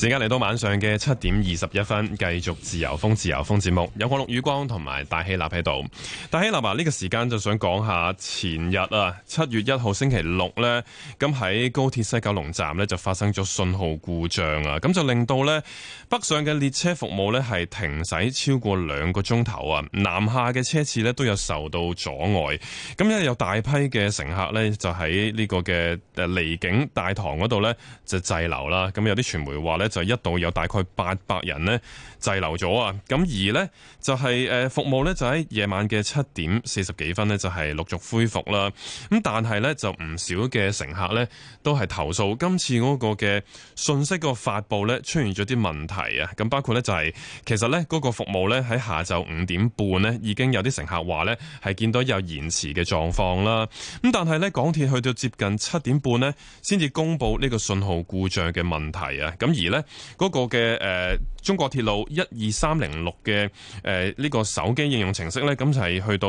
時間嚟到晚上嘅7:21，繼續自由風節目，有我陸宇光同埋戴希立喺度。戴希立呢個時間就想講下前日7月1號星期六呢，咁喺高鐵西九龍站呢就發生咗信號故障啊，咁就令到呢北上嘅列車服務呢係停駛超過2個鐘頭啊，南下嘅車次呢都有受到阻礙。咁因為有大批嘅乘客呢就喺呢個嘅離境大堂嗰度呢就滯留啦，咁有啲傳媒話呢就一度有大概800人呢滯留咗啊，咁而呢就係服務呢就喺夜晚嘅7:40幾分呢就係陸續恢復啦，咁但係呢就唔少嘅乘客呢都係投訴今次嗰個嘅信息個發布呢出現咗啲問題啊，咁包括呢就係其實呢嗰個服務呢喺下晝5點半呢已經有啲乘客話呢係見到有延遲嘅狀況啦，咁但係呢港鐵去到接近7點半呢先至公布呢個信號故障嘅問題啊，咁而呢嗰個嘅中國鐵路12306嘅呢個手機應用程式呢，咁就係去到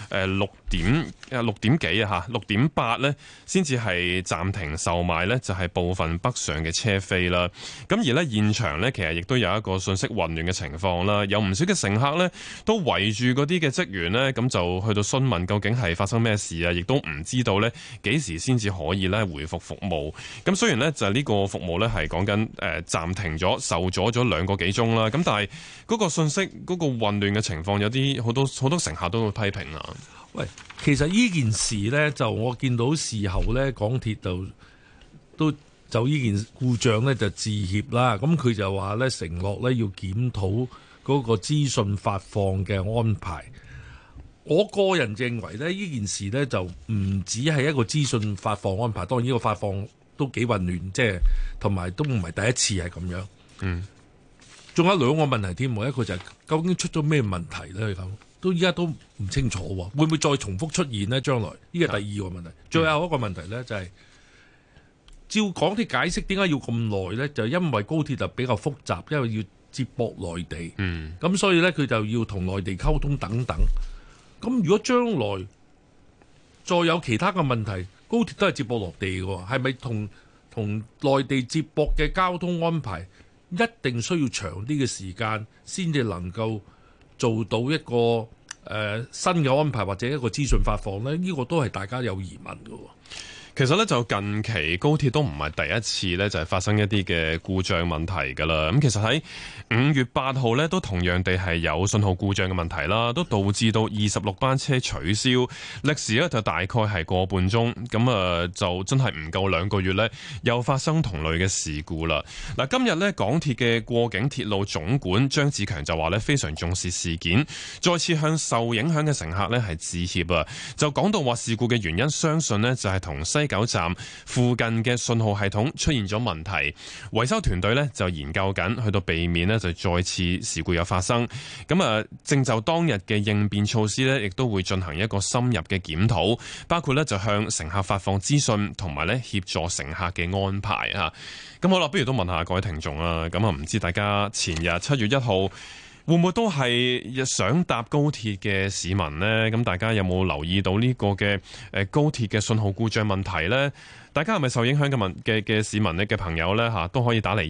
6點幾啊嚇，6點8呢先至係暫停售賣呢就係部分北上嘅車飛啦。咁而呢現場呢，其實亦都有一個信息混亂嘅情況啦，有唔少嘅乘客呢都圍住嗰啲嘅職員呢，咁就去到詢問究竟係發生咩事啊，亦都唔知道呢幾時先至可以呢回復服務。咁雖然呢就係呢個服務呢係講緊暫停咗，受阻咗2個幾鐘啦，咁但係嗰個信息嗰個混亂嘅情況，有啲好多乘客都會批評啊。 喂，其實呢件事呢，就我見到事後呢，港鐵都就呢件故障呢就致歉啦。咁佢就話呢，承諾呢要檢討嗰個資訊發放嘅安排。我個人認為呢，呢件事呢就唔止係一個資訊發放安排，當然呢個發放都幾混亂，即係同埋都唔係第一次係咁樣。仲有2個問題添，一個就係究竟出咗咩問題呢？咁都依家都唔清楚喎，會唔會再重複出現呢？將來呢個第2個問題，最後一個問題呢，就係照港鐵解釋點解要咁耐呢？就因為高鐵就比較複雜，因為要接駁內地，咁所以呢，佢就要同內地溝通等等。咁如果將來再有其他嘅問題，高鐵都係接駁落地嘅，係咪同內地接駁嘅交通安排一定需要長啲嘅時間先至能夠做到一個新嘅安排或者一個資訊發放呢？呢個都係大家有疑問嘅。 其實咧就近期高鐵都唔係第一次咧就係發生一啲嘅故障問題㗎啦。咁其實喺5月8號咧都同樣地係有信號故障嘅問題啦，都導致到26班車取消，歷時咧就大概係個半鐘。咁就真係唔夠2個月咧，又發生同類嘅事故啦。嗱，今日咧港鐵嘅過境鐵路總管張志強就話咧非常重視事件，再次向受影響嘅乘客咧係致歉啊。就講到話事故嘅原因，相信呢就係同西九站附近嘅信號系統出現咗問題，維修團隊呢就研究緊，去到避免呢就再次事故有發生。咁正就當日嘅應變措施呢，亦都會進行一個深入嘅檢討，包括呢就向乘客發放資訊，同埋呢協助乘客嘅安排啊。咁好啦，不如都問下各位聽眾啊。咁唔知大家前日7月1號會唔會都係想搭高鐵嘅市民呢？咁大家有冇留意到呢個嘅高鐵嘅信號故障問題呢？大家係咪受影響嘅市民呢嘅朋友呢？都可以打嚟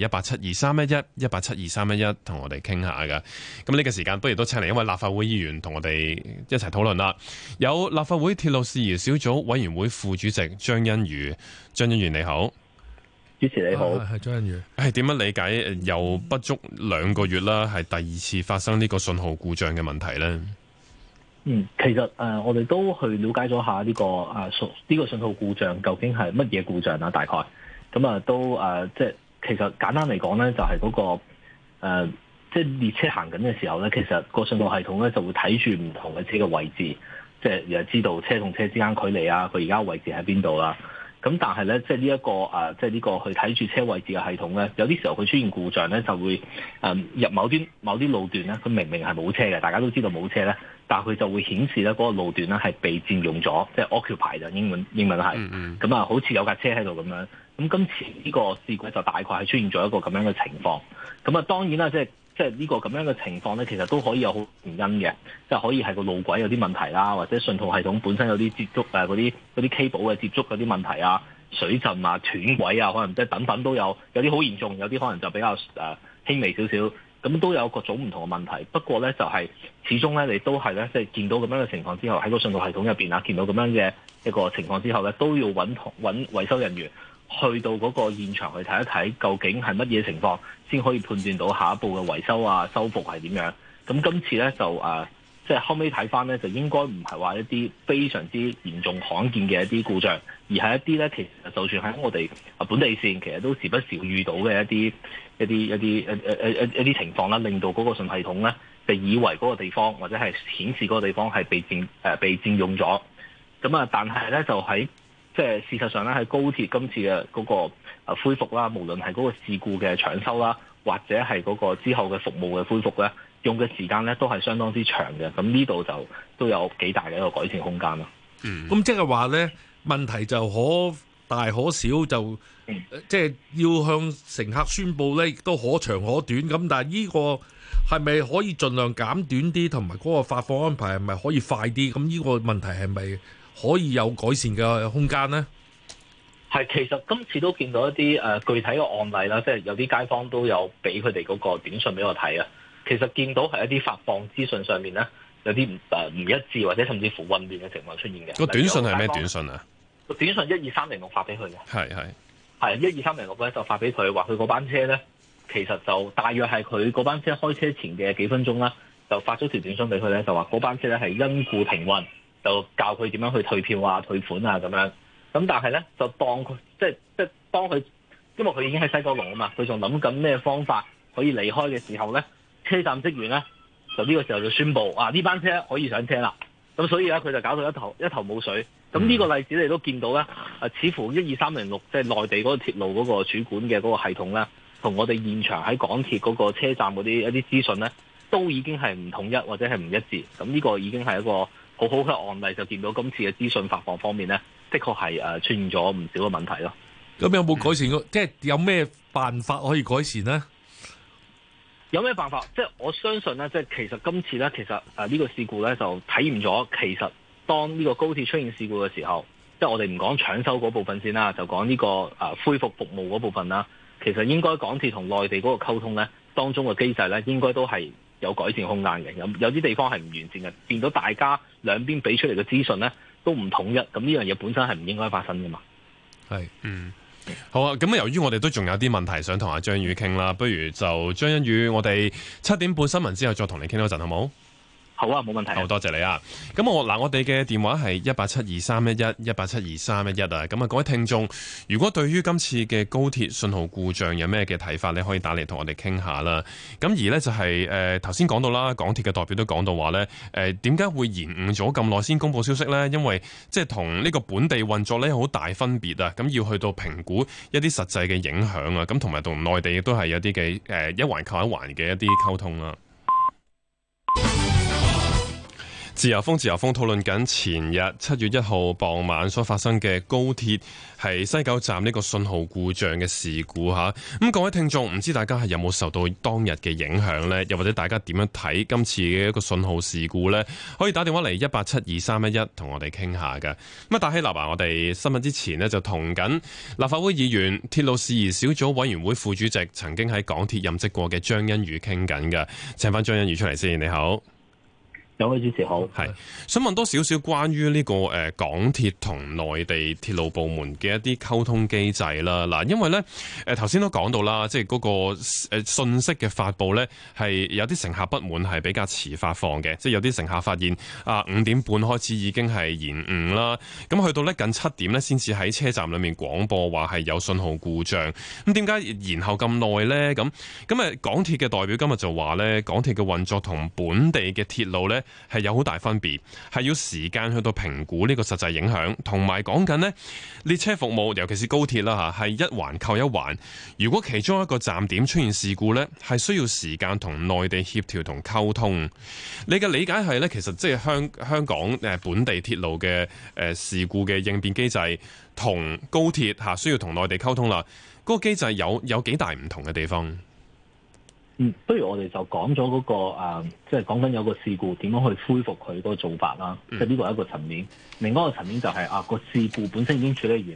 1872311同我哋傾下㗎。咁呢個時間不如都請嚟一位立法會議員同我哋一齊討論啦。有立法會鐵路事宜小組委員會副主席張欣宇。張欣宇你好。 主持你好， 係張欣宇。 點樣理解又不足2個月啦，係第2次發生呢個信號故障嘅問題呢？ 其實我哋都去了解咗下呢個信號故障究竟係乜嘢故障啦，大概咁都即係其實簡單嚟講咧，就係嗰個即係列車行緊嘅時候咧，其實個信號系統咧就會睇住唔同嘅車嘅位置，即係又知道車同車之間距離啊，佢而家位置喺邊度啦。咁但係咧，即係呢一個即係呢個去睇住車位置嘅系統咧，有啲時候佢出現故障咧，就會入某啲路段咧，佢明明係冇車嘅，大家都知道冇車咧，但係佢就會顯示咧嗰個路段咧係被佔用咗，即係 occupy 就英文係，咁好似有架車喺度咁樣。咁今次呢個事故就大概係出現咗一個咁樣嘅情況。咁當然啦，即係呢個咁樣嘅情況咧，其實都可以有好原因嘅，即係可以係個路軌有啲問題啦，或者信號系統本身有啲接觸嗰啲 cable 嘅接觸嗰啲問題啊， 水浸啊、斷軌啊，可能即係等等都有啲好嚴重，有啲可能就比較輕微少少。咁都有各種唔同嘅問題。不過咧，就係始終咧，你都係咧，即係見到咁樣嘅情況之後，喺個信號系統入邊啊，見到咁樣嘅一個情況之後咧，都要揾維修人員去到嗰個現場去睇一睇，究竟係乜嘢情況，先可以判斷到下一步嘅維修啊、修復係點樣。咁今次咧就即係後尾睇翻咧，就應該唔係話一啲非常之嚴重罕見嘅一啲故障，而係一啲咧，其實就算喺我哋本地線，其實都時不時遇到嘅一啲情況啦，令到嗰個信系統咧就以為嗰個地方或者係顯示嗰個地方係被佔用咗。咁啊，但係咧就喺即係事實上咧，喺高鐵今次嘅嗰個恢復啦，無論係嗰個事故嘅搶修啦，或者係嗰個之後嘅服務嘅恢復咧，用嘅時間咧都係相當之長嘅。咁呢度就都有幾大嘅一個改善空間咯。 咁即係話咧，問題就可大可小，就即係要向乘客宣佈咧，亦都可長可短。咁但係呢個係咪可以盡量減短啲，同埋嗰個發放安排係咪可以快啲？咁呢個問題係咪可以有改善嘅空間呢？ 係，其實今次都見到一啲具體嘅案例啦，即係有啲街坊都有俾佢哋嗰個短信俾我睇啊。其實見到係一啲發放資訊上面咧，有啲唔一致，或者甚至乎混亂嘅情況出現嘅。 個短信係咩短信啊？ 個短信12306發俾佢嘅。 係 12306咧就發俾佢，話佢嗰班車咧，其實就大約係佢嗰班車開車前嘅幾分鐘啦，就發咗條短信俾佢咧，就話嗰班車咧係因故停運，就教佢點樣去退票啊、退款啊咁樣。咁但係咧就當佢即係當佢，因為佢已經喺西九龍啊嘛，佢仲諗緊咩方法可以離開嘅時候咧，車站職員咧就呢個時候就宣布呢班車可以上車啦。咁所以咧佢就搞到一頭霧水。咁呢個例子你都見到咧，似乎12306即係內地嗰個鐵路嗰個主管嘅嗰個系統咧，同我哋現場喺港鐵嗰個車站嗰啲一啲資訊咧，都已經係唔統一或者係唔一致。咁呢個已經係一個好好嘅案例，就見到今次嘅資訊發放方面咧，的確係出現咗唔少嘅問題咯。 咁有冇改善？即係有咩辦法可以改善呢？ 有咩辦法？即係我相信咧，即係其實今次咧，其實呢個事故咧就體驗咗，其實當呢個高鐵出現事故嘅時候，即係我哋唔講搶修嗰部分先啦，就講呢個恢復服務嗰部分啦。其實應該港鐵同內地嗰個溝通咧，當中嘅機制咧，應該都係有改善空間嘅。有啲地方係唔完善嘅，變到大家兩邊俾出嚟嘅資訊咧都唔統一，咁呢樣嘢本身係唔應該發生噶嘛。 係， 好啊，咁由於我哋都仲有啲問題想同阿張宇傾啦，不如就張欣宇，我哋7點半新聞之後再同你傾多陣，好冇？ 好啊，冇問題。 好多謝你啊！咁我哋嘅電話係1872311，1872311啊！咁啊，各位聽眾，如果對於今次嘅高鐵信號故障有咩嘅睇法，你可以打嚟同我哋傾下啦。咁而呢，就係頭先講到啦，港鐵嘅代表都講到話呢，點解會延誤咗咁耐先公佈消息呢？因為即係同呢個本地運作呢有好大分別啊！咁要去到評估一啲實際嘅影響啊！咁同埋同內地亦都係有啲嘅一環扣一環嘅一啲溝通啦。自由風討論緊前日7月1號傍晚所發生嘅高鐵係西九站呢個信號故障嘅事故吓。咁各位聽眾，唔知大家係有冇受到當日嘅影響呢？又或者大家點樣睇今次嘅一個信號事故呢？可以打電話嚟1872311同我哋傾下㗎。咁啊，戴希立我哋新聞之前呢，就同緊立法會議員鐵路事宜小組委員會副主席，曾經喺港鐵任職過嘅張欣宇傾緊㗎。請翻張欣宇出嚟先，你好。 兩位主持好， 係想問多少少關於呢個港鐵同內地鐵路部門嘅一啲溝通機制啦。嗱，因為咧頭先都講到啦，即係嗰個信息嘅發布咧係有啲乘客不滿係比較遲發放嘅，即係有啲乘客發現5點半開始已經係延誤啦，咁去到咧近7點咧先至喺車站裏面廣播話係有信號故障。咁點解延後咁耐咧？咁港鐵嘅代表今日就話咧，港鐵嘅運作同本地嘅鐵路咧係有好大分別，係要時間去到評估呢個實際影響，同埋講緊呢列車服務，尤其是高鐵啦嚇，係一環扣一環。如果其中一個站點出現事故呢，係需要時間同內地協調同溝通。你嘅理解係呢？其實即係香港本地鐵路嘅事故嘅應變機制，同高鐵嚇需要同內地溝通啦。嗰個機制有幾大唔同嘅地方？ 不如我哋就講咗嗰個即係講緊有個事故點樣去恢復佢嗰個做法啦。即係呢個係一個層面，另外一個層面就係個事故本身已經處理完啦。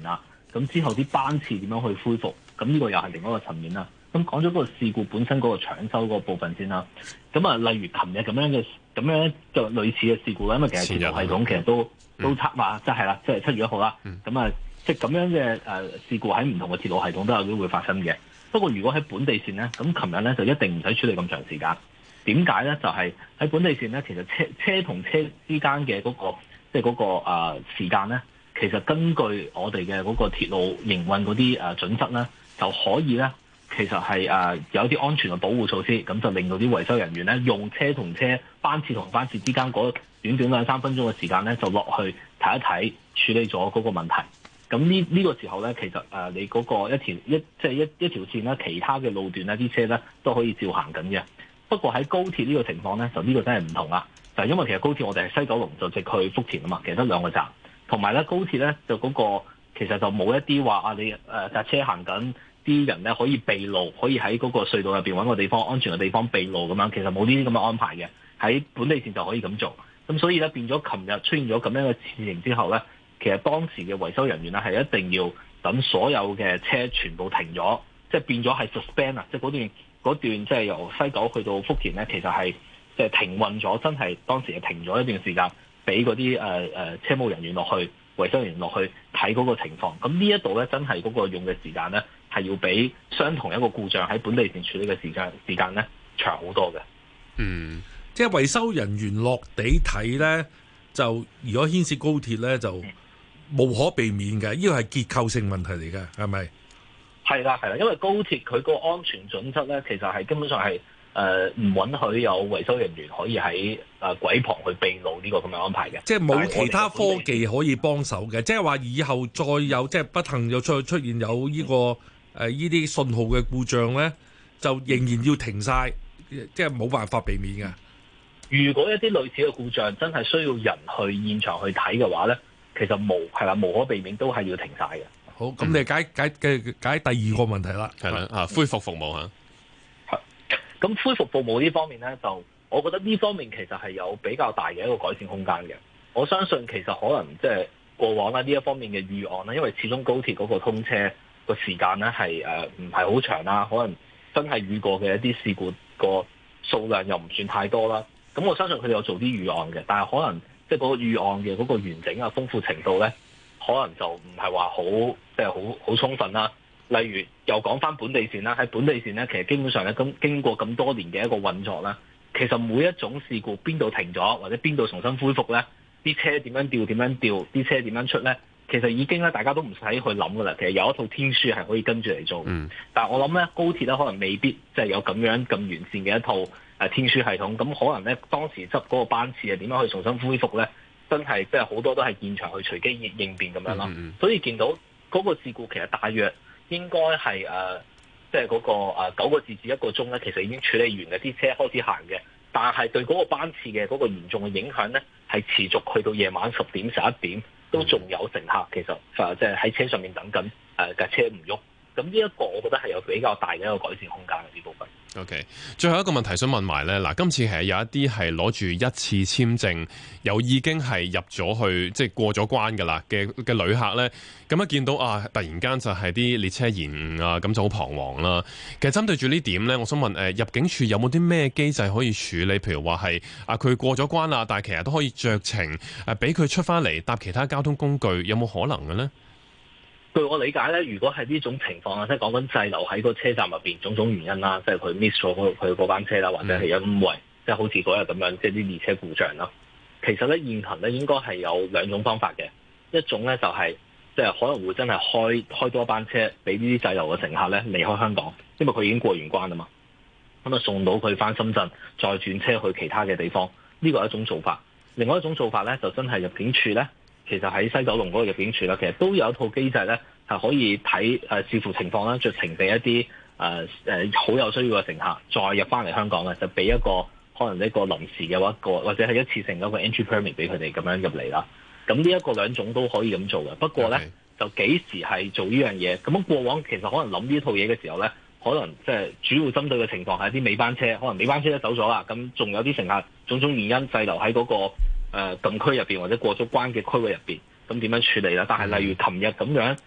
咁之後啲班次點樣去恢復？咁呢個又係另一個層面啦。咁講咗個事故本身嗰個搶修嗰個部分先啦。咁啊，例如琴日咁樣嘅類似嘅事故咧，因為其實鐵路系統其實都測話，即係啦，即係7月1號啦。咁啊，即係咁樣嘅事故喺唔同嘅鐵路系統都有機會發生嘅。不過如果喺本地線咧，咁琴日咧就一定唔使處理咁長時間。點解咧？就係喺本地線咧，其實車同車之間嘅嗰個即係嗰個時間咧，其實根據我哋嘅嗰個鐵路營運嗰啲準則咧，就可以咧。其實係有一啲安全嘅保護措施，咁就令到啲維修人員咧用車同車班次同班次之間嗰短短2-3分鐘嘅時間咧，就落去睇一睇，處理咗嗰個問題。咁呢個時候咧，其實你嗰個一條線咧，其他嘅路段咧，啲車咧都可以照行緊嘅。不過喺高鐵呢個情況咧，就呢個真係唔同啦。就係因為其實高鐵我哋係西九龍就直去福田啊嘛，其實得2個站，同埋咧高鐵咧就嗰個其實就冇一啲話你架車行緊。啲人咧可以避路，可以喺嗰個隧道入邊揾個地方安全嘅地方避路咁樣，其實冇呢啲咁嘅安排嘅。喺本地線就可以咁做，咁所以咧變咗琴日出現咗咁樣嘅事情之後咧，其實當時嘅維修人員咧係一定要等所有嘅車全部停咗，即係變咗係 suspend 啊，即係嗰段即係由西九去到福田咧，其實係即係停運咗，真係當時係停咗一段時間，俾嗰啲車務人員落去維修人員落去睇嗰個情況。咁呢一度咧真係嗰個用嘅時間咧。係要比相同一個故障喺本地線處理嘅時間咧長好多嘅。 即係維修人員落地睇咧，就如果牽涉高鐵咧，就無可避免嘅。呢個係結構性問題嚟嘅，係咪？ 係啦，因為高鐵佢個安全準則咧，其實係根本上係唔允許有維修人員可以喺軌旁去避路呢個咁嘅安排嘅。即係冇其他科技可以幫手嘅，即係話以後再有即係不幸又再出現有呢個。呢啲信號嘅故障咧，就仍然要停晒，即係冇辦法避免嘅。 如果一啲類似嘅故障真係需要人去現場去睇嘅話咧，其實無可避免都係要停晒嘅。 好，咁你解第二個問題啦， 係啦，恢復服務嚇。 咁恢復服務呢方面咧，就我覺得呢方面其實係有比較大嘅一個改善空間嘅。我相信其實可能即係過往啦呢一方面嘅預案啦，因為始終高鐵嗰個通車個時間咧係唔係好長啦，可能真係遇過嘅一啲事故個數量又唔算太多啦。咁我相信佢哋有做啲預案嘅，但係可能即係嗰個預案嘅嗰個完整啊、豐富程度咧，可能就唔係話好即係好充分啦。例如又講翻本地線啦，喺本地線咧，其實基本上咧經過咁多年嘅一個運作啦，其實每一種事故邊度停咗或者邊度重新恢復咧，啲車點樣調，啲車點樣出咧？其實已經咧，大家都唔使去諗噶啦。其實有一套天書係可以跟住嚟做。但係我諗咧，高鐵咧可能未必即係有咁樣咁完善嘅一套天書系統。咁可能咧，當時執嗰個班次係點樣去重新恢復咧？真係即係好多都係現場去隨機應變咁樣咯。所以見到嗰個事故其實大約應該係即係嗰個9個字至1個鐘咧，其實已經處理完嘅，啲車開始行嘅。但係對嗰個班次嘅嗰個嚴重嘅影響咧，係持續去到夜晚10點11點。都仲有乘客其實即係喺車上面等緊架車唔喐，咁呢一個我覺得係有比較大嘅一個改善空間嘅呢部分。 OK， 最後一個問題想問埋咧，嗱，今次係有一啲係攞住一次簽證，又已經係入咗去即係過咗關㗎啦嘅旅客咧，咁一見到突然間就係啲列車延誤啊，咁就好彷徨啦。其實針對住呢點咧，我想問入境處有冇啲咩機制可以處理？譬如話係佢過咗關啦，但係其實都可以酌情俾佢出翻嚟搭其他交通工具，有冇可能嘅咧？ 據我理解咧，如果係呢種情況啊，即係講緊滯留喺個車站入邊，種種原因啦，即係佢 miss 咗佢嗰班車啦，或者係因為即係好似嗰日咁樣，即係啲列車故障啦。其實咧現行咧應該係有2種方法嘅，一種咧就係即係可能會真係開多班車俾呢啲滯留嘅乘客咧離開香港，因為佢已經過完關啦嘛。咁啊送到佢翻深圳，再轉車去其他嘅地方，呢個係一種做法。另外一種做法咧就真係入境處咧。其實喺西九龍嗰個入境處咧，其實都有一套機制咧，係可以睇視乎情況啦，酌情俾一啲好有需要嘅乘客再入翻嚟香港嘅，就俾一個可能一個臨時嘅或者係一次性嗰個 entry permit 俾佢哋咁樣入嚟啦。咁呢一個2種都可以咁做嘅。不過咧就幾時係做呢樣嘢？咁過往其實可能諗呢套嘢嘅時候咧，可能即係主要針對嘅情況係一啲尾班車，可能尾班車都走咗啦，咁仲有啲乘客種種原因滯留喺嗰個禁區入邊或者過咗關嘅區域入邊，咁點樣處理啦？但係例如琴日咁樣，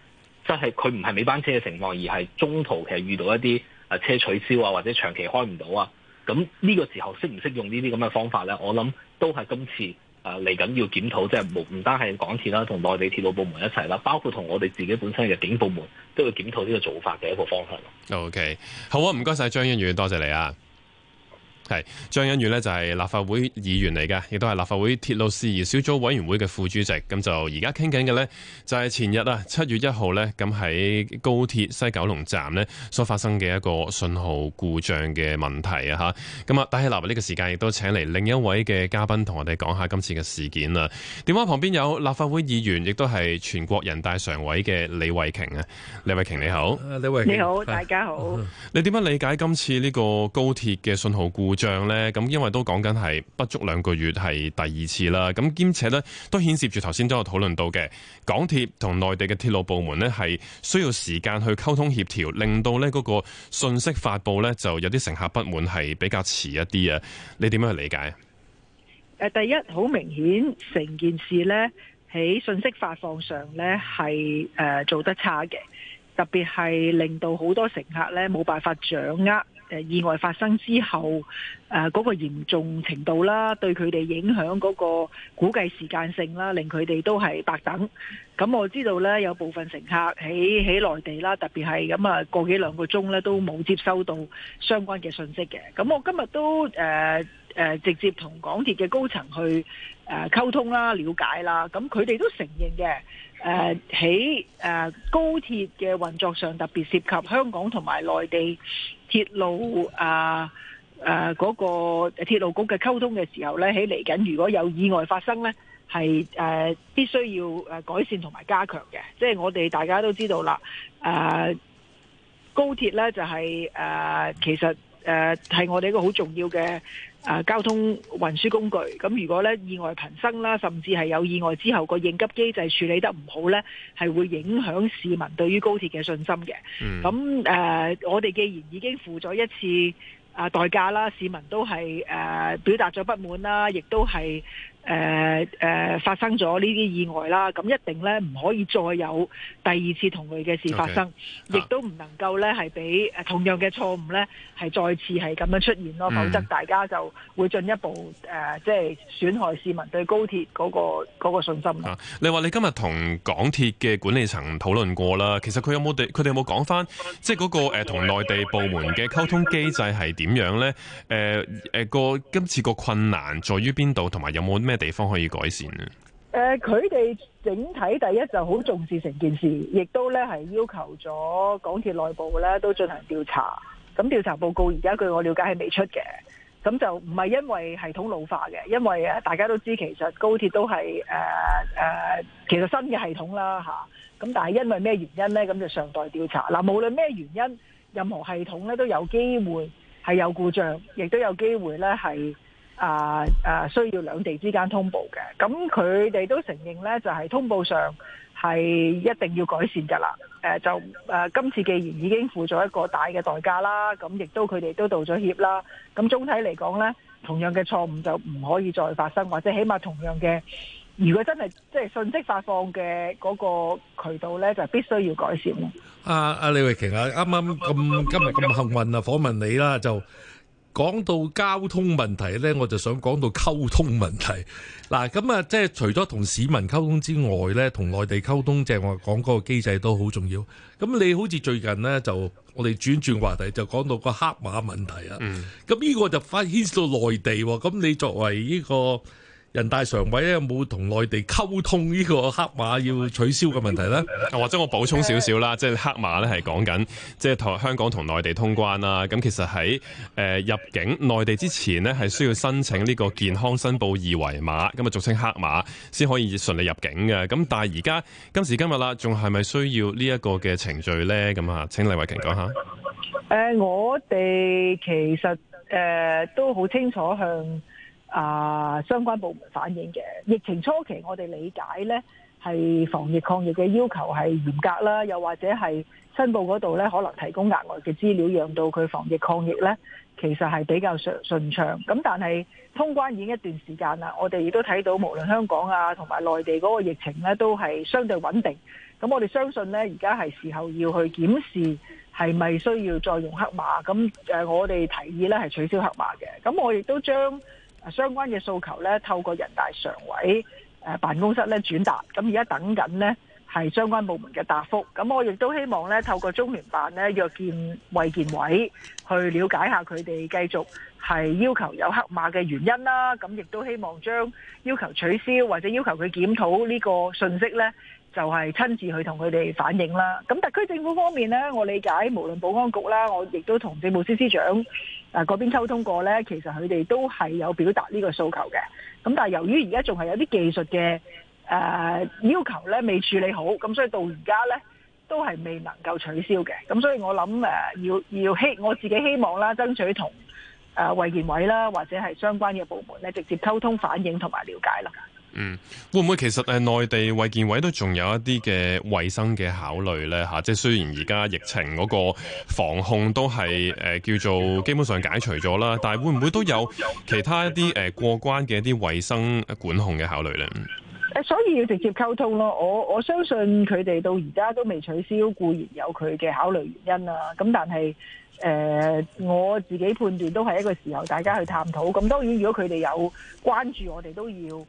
即係佢唔係尾班車嘅情況，而係中途其實遇到一啲車取消啊，或者長期開唔到啊，咁呢個時候識唔識用呢啲咁嘅方法咧？我諗都係今次嚟緊要檢討，即係唔單係港鐵啦，同內地鐵路部門一齊啦，包括同我哋自己本身嘅警部門都要檢討呢個做法嘅一個方向。 OK， 好啊，唔該晒張欣宇，多謝你啊。係張欣宇呢，就係立法會議員嚟嘅，亦都係立法會鐵路事宜小組委員會嘅副主席。咁就而家傾緊嘅呢，就係前日啊7月1號呢，咁喺高鐵西九龍站呢所發生嘅一個信號故障嘅問題啊吓。咁啊，戴希立呢個時間亦都請嚟另一位嘅嘉賓同我哋講下今次嘅事件啦。電話旁邊有立法會議員，亦都係全國人大常委嘅李慧瓊啊。李慧瓊你好。 李慧瓊你好，大家好。 你點樣理解今次呢個高鐵嘅信號故障呢？咁因為都講緊係不足2個月係第2次啦，咁兼且呢都牽涉住頭先都有討論到嘅港鐵同內地嘅鐵路部門呢係需要時間去溝通協調，令到呢嗰個信息發布呢就有啲乘客不滿係比較遲一啲啊。你點樣去理解？ 第一，好明顯成件事呢喺信息發放上呢係做得差嘅，特別係令到好多乘客呢冇辦法掌握意外發生之後嗰個嚴重程度啦，對佢哋影響嗰個估計時間性啦，令佢哋都係白等。咁我知道呢，有部分乘客喺內地啦，特別係咁啊個幾2個鐘呢都冇接收到相關嘅信息嘅。咁我今日都直接同港鐵嘅高層去溝通啦、了解啦。咁佢哋都承認嘅。喺高鐵嘅運作上，特別涉及香港同埋內地鐵路嗰個鐵路局嘅溝通嘅時候呢，喺嚟緊如果有意外發生呢，係必須要改善同埋加強嘅。即係我哋大家都知道啦，高鐵呢就係其實係我哋一個好重要嘅交通運輸工具。咁如果咧意外頻生啦，甚至係有意外之後個應急機制處理得唔好咧，係會影響市民對於高鐵嘅信心嘅。咁我哋既然已經付咗一次代價啦，市民都係表達咗不滿啦，亦都係發生咗呢啲意外啦，咁一定咧唔可以再有第2次同類嘅事發生，亦都唔能夠咧係俾同樣嘅錯誤咧係再次係咁樣出現咯，否則大家就會進一步即係損害市民對高鐵嗰個信心啦。 你話你今日同港鐵嘅管理層討論過啦，其實佢哋有冇講翻，即係嗰個同內地部門嘅溝通機制係點樣咧？今次個困難在於邊度，同埋有冇咩地方可以改善呢？ 佢哋整體第一就好重視成件事，亦都咧係要求咗港鐵內部咧都進行調查。咁調查報告而家據我了解係未出嘅，咁就唔係因為系統老化嘅，因為大家都知其實高鐵都係其實新嘅系統啦嚇。咁但係因為咩原因咧？咁就尚待調查。嗱，無論咩原因，任何系統咧都有機會係有故障，亦都有機會咧係需要兩地之間通報嘅。咁佢哋都承認咧，就係通報上係一定要改善㗎啦。今次既然已經付咗一個大嘅代價啦，咁亦都佢哋都道咗歉啦。咁總體嚟講咧，同樣嘅錯誤就唔可以再發生，或者起碼同樣嘅，如果真係即係信息發放嘅嗰個渠道咧，就必須要改善咯。 阿李慧瓊啊，啱啱今日咁幸運啊，訪問你啦，就講到交通問題咧，我就想講到溝通問題。嗱，咁啊，即係除咗同市民溝通之外咧，同內地溝通，即係我講嗰個機制都好重要。咁你好似最近咧，就我哋轉話題，就講到個黑馬問題啊。咁呢個就牽涉到內地喎。咁你作為呢個人大常委咧，有冇同內地溝通呢個黑馬要取消嘅問題呢？ 或者我補充少少啦，即係黑馬咧係講緊即係同香港同內地通關啦。咁其實喺入境內地之前呢，係需要申請呢個健康申報二維碼，咁啊俗稱黑碼，先可以順利入境嘅。咁但係而家今時今日啦，仲係咪需要呢一個嘅程序呢？咁啊，請李慧瓊講下。 我哋其實都好清楚向相關部門反映嘅。疫情初期我哋理解呢係防疫抗疫嘅要求係嚴格啦，又或者係申報嗰度呢可能提供額外嘅資料，讓到佢防疫抗疫呢其實係比較順暢。咁但係通關已經一段時間啦，我哋亦都睇到無論香港同埋內地嗰個疫情呢都係相對穩定。 咁我哋相信呢，而家係時候要去檢視係咪需要再用黑碼。咁我哋提議呢係取消黑碼嘅。咁我亦都將相關嘅訴求呢透過人大常委辦公室呢轉達。咁而家等緊呢係相關部門嘅答覆。咁我亦都希望呢透過中聯辦呢約見衛健委去了解下佢哋繼續係要求有黑碼嘅原因啦。咁亦都希望將要求取消或者要求佢檢討呢個信息呢，就係親自去同佢哋反映啦。咁特區政府方面呢，我理解無論保安局啦，我亦都同政務司司長嗰邊溝通過呢，其實佢哋都係有表達呢個訴求嘅。咁但係由於而家仲係有啲技術嘅要求呢未處理好，咁所以到而家呢都係未能夠取消嘅。咁所以我諗我自己希望啦，爭取同衛健委啦或者係相關嘅部門呢直接溝通反映同埋了解啦。 會唔會其實內地衛健委都仲有一啲嘅衛生嘅考慮呢？即係雖然而家疫情嗰個防控都係叫做基本上解除咗啦，但係會唔會都有其他一啲過關嘅一啲衛生管控嘅考慮呢？ 所以要直接溝通咯。我相信佢哋到而家都未取消，固然有佢嘅考慮原因啦。咁但係我自己判斷都係一個時候大家去探討。咁當然如果佢哋有關注，我哋都要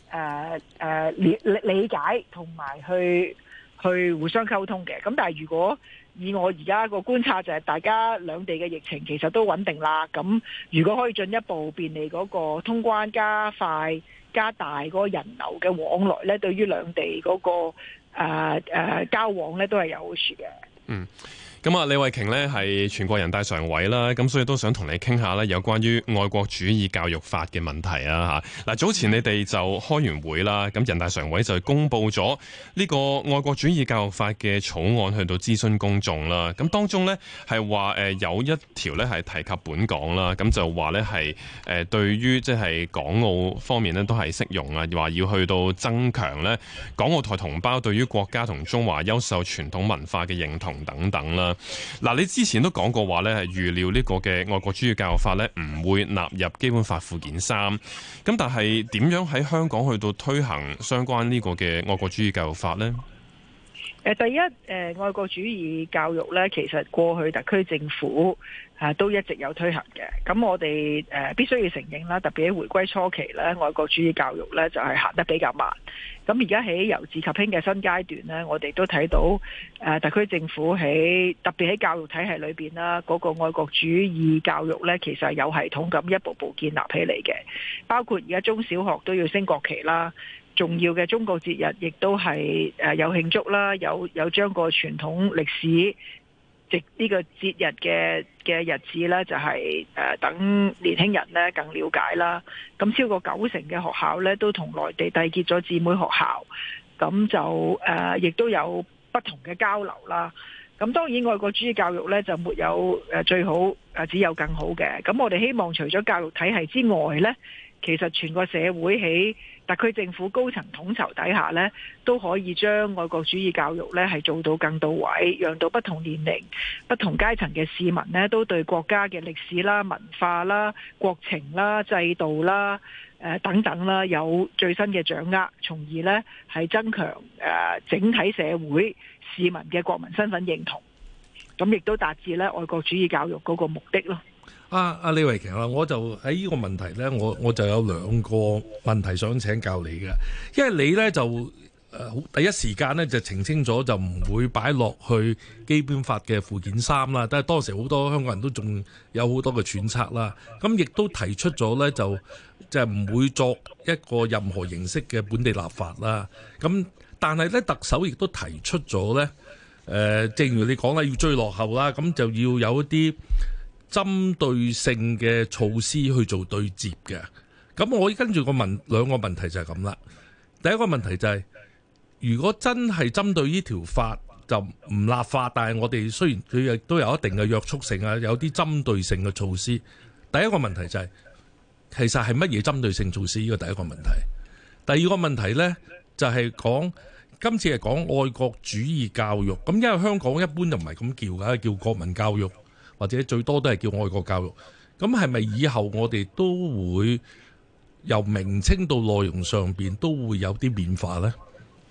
理解同埋去互相溝通嘅。咁但係如果以我而家個觀察就係大家兩地嘅疫情其實都穩定啦。咁如果可以進一步便利嗰個通關加快加大嗰個人流嘅往來咧，對於兩地嗰個交往咧都係有好處嘅。 咁李慧瓊呢係全國人大常委啦，咁所以都想同你傾下呢有關於愛國主義教育法嘅問題啊嚇。嗱，早前你哋就開完會啦，咁人大常委就公布咗呢個愛國主義教育法嘅草案去到諮詢公眾啦。咁當中呢係話有一條呢係提及本港啦，咁就話呢係對於即係港澳方面呢都係適用啊，話要去到增強呢港澳台同胞對於國家同中華優秀傳統文化嘅認同等等啦。嗱，你之前都講過話咧，係預料呢個嘅愛國主義教育法咧唔會納入基本法附件3，咁但係點樣喺香港去到推行相關呢個嘅愛國主義教育法呢？ 第一，愛國主義教育咧，其實過去特區政府都一直有推行嘅。咁我哋必須要承認啦，特別喺回歸初期咧，愛國主義教育咧就係行得比較慢。咁而家喺由治及興嘅新階段咧，我哋都睇到特區政府特別喺教育體系裏邊啦，嗰個愛國主義教育咧，其實係有系統咁一步步建立起嚟嘅。包括而家中小學都要升國旗啦。重要嘅中國節日亦都係有慶祝啦，有將個傳統歷史呢個節日嘅日子咧，就係等年輕人咧更了解啦。咁超過90%嘅學校咧都同內地締結咗姊妹學校，咁就亦都有不同嘅交流啦。咁當然愛國主義教育咧就沒有最好，只有更好嘅。咁我哋希望除咗教育體系之外咧，其實全個社會喺特區政府高層統籌底下呢，都可以將愛國主義教育呢係做到更到位，讓到不同年齡、不同階層嘅市民呢，都對國家嘅歷史啦、文化啦、國情啦、制度啦、等等啦有最新嘅掌握，從而呢係增強整體社會市民嘅國民身份認同，咁亦都達至呢愛國主義教育嗰個目的咯。 李慧瓊啊，我就喺呢個問題呢，我就有兩個問題想請教你嘅，因為你呢，就第一時間呢，就澄清咗就唔會擺落去基本法嘅附件3啦，但係當時好多香港人都仲有好多嘅揣測啦，咁亦都提出咗呢，就唔會作一個任何形式嘅本地立法啦，咁但係呢，特首亦都提出咗呢，正如你講啦，要追落後啦，咁就要有一啲針對性嘅措施去做對接嘅。咁我跟住兩個問題就係咁啦。第一個問題就係，如果真係針對呢條法就唔立法，但係我哋雖然佢亦都有一定嘅約束性啊，有啲針對性嘅措施。第一個問題就係，其實係乜嘢針對性措施？呢個第一個問題。第二個問題呢，就係講今次係講愛國主義教育。咁因為香港一般就唔係咁叫㗎，叫國民教育。或者最多都係叫愛國教育，咁係咪以後我哋都會由名稱到內容上邊都會有啲變化呢？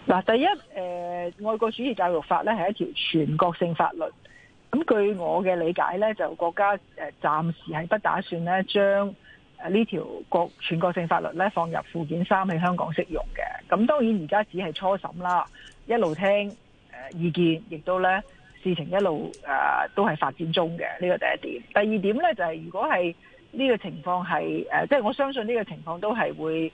嗱，第一，愛國主義教育法咧係一條全國性法律。咁據我嘅理解咧，就國家暫時係不打算咧將呢條全國性法律咧放入附件3喺香港適用嘅。咁當然而家只係初審啦，一路聽意見，亦都咧事情一路都係發展中嘅。呢個第一點。第二點咧就係如果係呢個情況係即係我相信呢個情況都係會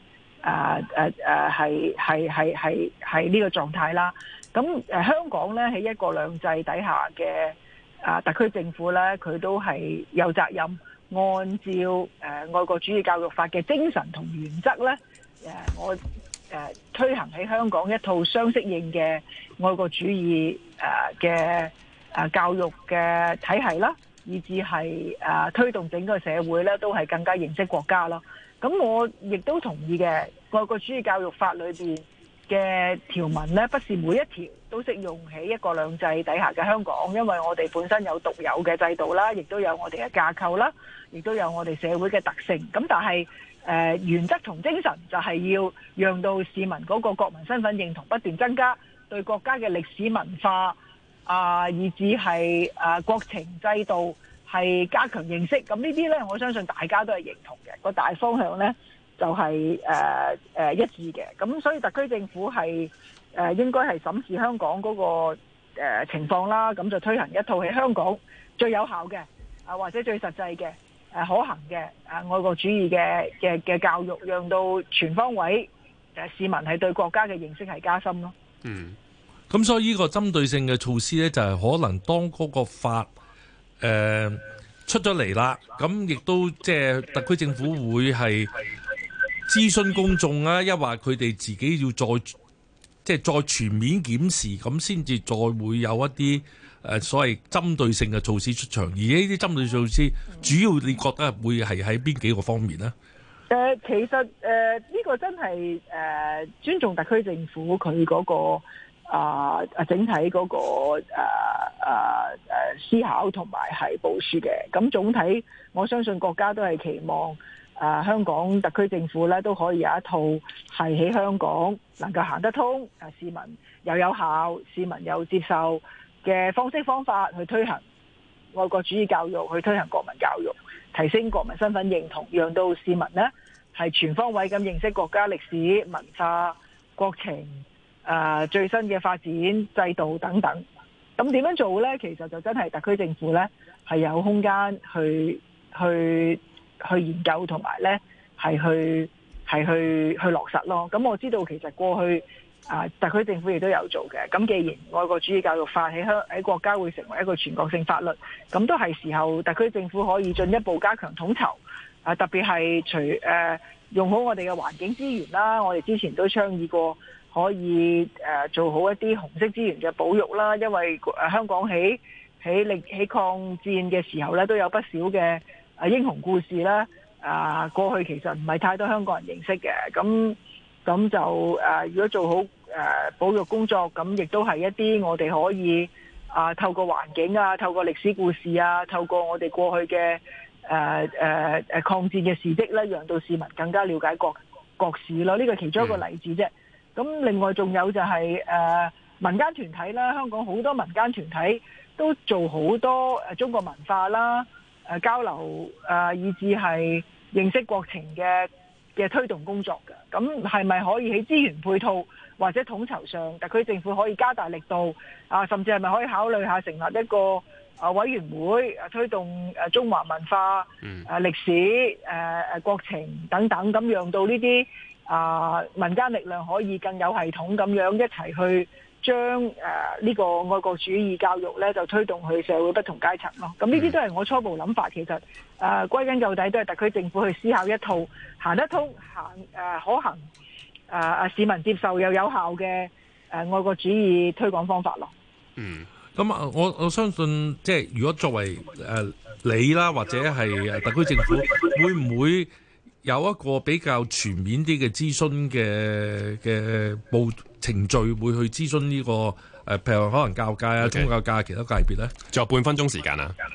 係呢個狀態啦。咁香港咧喺一國兩制底下嘅特區政府咧，佢都係有責任按照愛國主義教育法嘅精神同原則咧，我推行喺香港一套相適應嘅愛國主義嘅教育嘅體系啦，以至係推動整個社會咧都係更加認識國家咯。咁我亦都同意嘅，愛國主義教育法裏邊嘅條文咧，不是每一條都適用喺一國兩制底下嘅香港，因為我哋本身有獨有嘅制度啦，亦都有我哋嘅架構啦，亦都有我哋社會嘅特性。咁但係原則同精神就係要讓到市民嗰個國民身份認同不斷增加，對國家嘅歷史文化以至係國情制度係加強認識。咁呢啲呢，我相信大家都係認同嘅，個大方向呢就係一致嘅。咁所以特區政府係應該係審視香港嗰個情況啦，咁就推行一套喺香港最有效嘅或者最實際嘅可行嘅愛國主義嘅教育，讓到全方位市民係對國家嘅認識係加深咯。 嗯，咁所以呢個針對性嘅措施呢，就係可能當嗰個法出咗嚟啦，咁亦都即係特區政府會係諮詢公眾啊，抑或佢哋自己要再全面檢視，咁先至再會有一啲所謂針對性嘅措施出場。而呢啲針對措施，主要你覺得會係喺邊幾個方面呢？ 其實呢個真係尊重特區政府佢嗰個整體嗰個思考同埋係部署嘅。咁總體我相信國家都係期望香港特區政府咧都可以有一套係喺香港能夠行得通，市民又有效，市民又接受嘅方式方法去推行愛國主義教育，去推行國民教育，提升國民身份認同，讓到市民呢係全方位咁認識國家歷史文化國情最新嘅發展制度等等。咁點樣做呢？其實就真係特區政府呢係有空間去研究同埋咧係去落實咯。咁我知道其實過去特區政府亦都有做嘅。咁既然愛國主義教育法喺國家會成為一個全國性法律，咁都係時候特區政府可以進一步加強統籌。特別係用好我哋嘅環境資源啦。我哋之前都倡議過可以做好一啲紅色資源嘅保育啦。因為香港喺抗戰嘅時候咧都有不少嘅英雄故事啦，過去其實唔係太多香港人認識嘅，咁就如果做好保育工作，咁亦都係一啲我哋可以透過環境透過歷史故事透過我哋過去嘅抗戰嘅事蹟咧，讓到市民更加了解國史咯。呢個其中一個例子啫。咁另外仲有就係民間團體啦，香港好多民間團體都做好多中國文化啦。交流以至係認識國情嘅推動工作嘅。咁係咪可以喺資源配套或者統籌上，特區政府可以加大力度甚至係咪可以考慮下成立一個委員會推動中華文化歷史國情等等，咁讓到呢啲民間力量可以更有系統咁樣一齊去將呢個愛國主義教育咧就推動去社會不同階層咯。咁呢啲都係我初步諗法。其實歸根究底都係特區政府去思考一套行得通、可行、市民接受又有效嘅愛國主義推廣方法咯。 咁我相信即係如果作為你啦，或者係特區政府，會唔會有一個比較全面啲嘅諮詢嘅程序，會去諮詢呢個譬如可能教界宗教界其他界別咧？ 仲有半分鐘時間啊！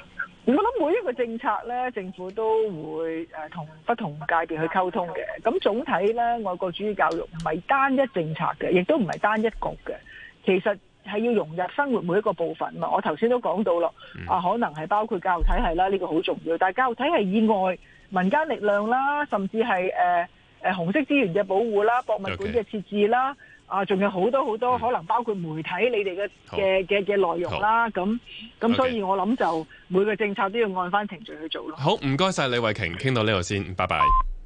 我諗每一個政策咧，政府都會同不同界別去溝通嘅。咁總體咧，愛國主義教育唔係單一政策嘅，亦都唔係單一局嘅。其實係要融入生活每一個部分嘛。我頭先都講到咯，可能係包括教育體系啦，呢個好重要。但係教育體系以外，民間力量啦，甚至係紅色資源嘅保護啦、博物館嘅設置啦。仲有好多好多可能包括媒體你哋嘅內容啦，咁所以我諗就每個政策都要按翻程序去做咯。 好，唔該晒李慧瓊，傾到呢度先，拜拜。